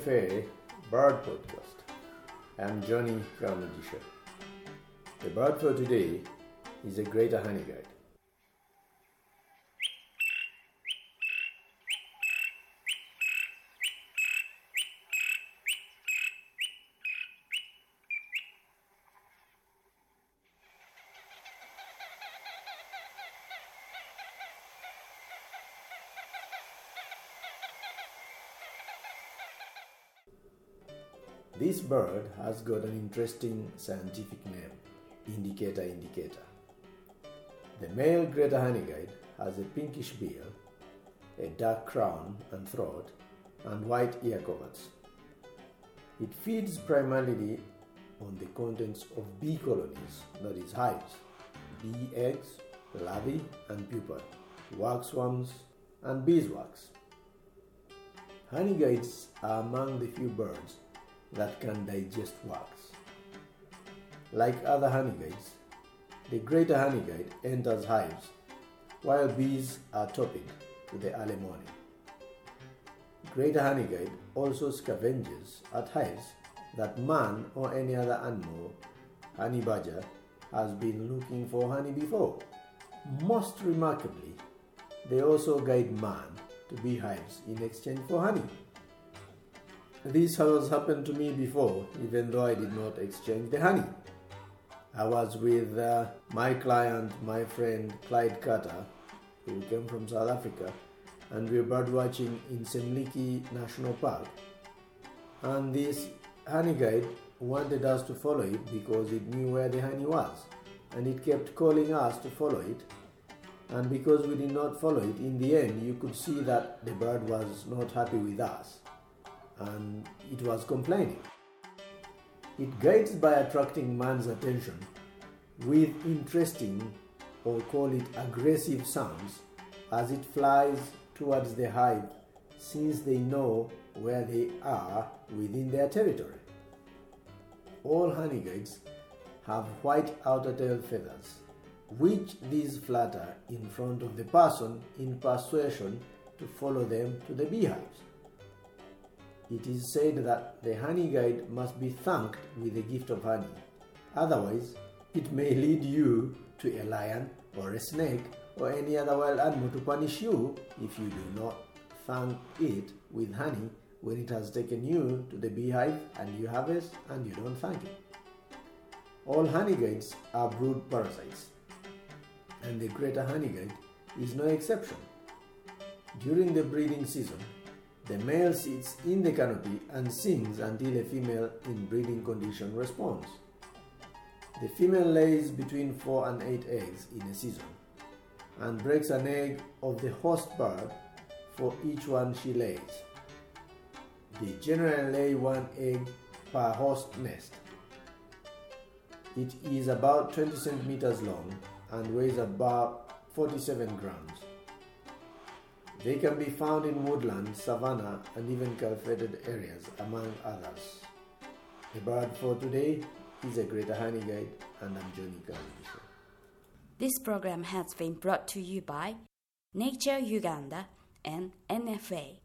NFA Bird Podcast. I'm Johnny Karamajisha. The bird for today is a greater honey guide. This bird has got an interesting scientific name, indicator. The male greater honeyguide has a pinkish bill, a dark crown and throat, and white ear coverts. It feeds primarily on the contents of bee colonies, that is hives, bee eggs, larvae and pupae, wax worms, and beeswax. Honeyguides are among the few birds that can digest wax. Like other honeyguides, the greater honeyguide enters hives while bees are topping to the early morning. Greater honeyguide also scavenges at hives that man or any other animal, honey badger, has been looking for honey before. Most remarkably, they also guide man to beehives in exchange for honey. This has happened to me before, even though I did not exchange the honey. I was with my client, my friend Clyde Carter, who came from South Africa, and we were bird watching in Semliki National Park. And this honey guide wanted us to follow it because it knew where the honey was, and it kept calling us to follow it. And because we did not follow it, in the end you could see that the bird was not happy with us, and it was complaining. It guides by attracting man's attention with interesting, or call it aggressive, sounds as it flies towards the hive, since they know where they are within their territory. All honey guides have white outer tail feathers, which these flutter in front of the person in persuasion to follow them to the beehives. It is said that the honey guide must be thanked with a gift of honey. Otherwise, it may lead you to a lion or a snake or any other wild animal to punish you if you do not thank it with honey when it has taken you to the beehive and you harvest and you don't thank it. All honey guides are brood parasites, and the greater honey guide is no exception. During the breeding season, the male sits in the canopy and sings until a female in breeding condition responds. The female lays between 4 and 8 eggs in a season and breaks an egg of the host bird for each one she lays. They generally lay 1 egg per host nest. It is about 20 centimeters long and weighs about 47 grams. They can be found in woodland, savanna, and even cultivated areas, among others. The bird for today is a greater honey guide, and I'm Johnny Karamajisha. This program has been brought to you by Nature Uganda and NFA.